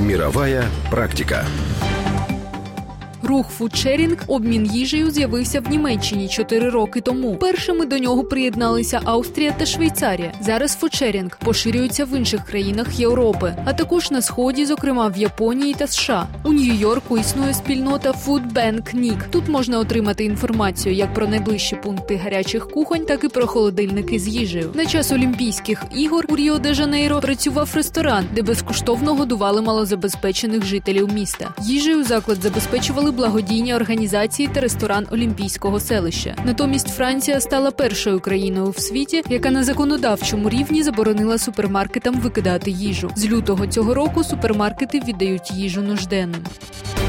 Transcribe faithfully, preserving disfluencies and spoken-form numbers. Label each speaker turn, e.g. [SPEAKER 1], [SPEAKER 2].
[SPEAKER 1] Мировая практика.
[SPEAKER 2] Рух фудшерінг, обмін їжею, з'явився в Німеччині чотири роки тому. Першими до нього приєдналися Австрія та Швейцарія. Зараз фудшерінг поширюється в інших країнах Європи, а також на Сході, зокрема в Японії та США. У Нью-Йорку існує спільнота Food Bank Ник. Тут можна отримати інформацію як про найближчі пункти гарячих кухонь, так і про холодильники з їжею. На час Олімпійських ігор у Ріо-де-Жанейро працював ресторан, де безкоштовно годували малозабезпечених жителів міста. Їжею заклад забезпечували благодійні організації та ресторан Олімпійського селища. Натомість Франція стала першою країною в світі, яка на законодавчому рівні заборонила супермаркетам викидати їжу. З лютого цього року супермаркети віддають їжу нужденним.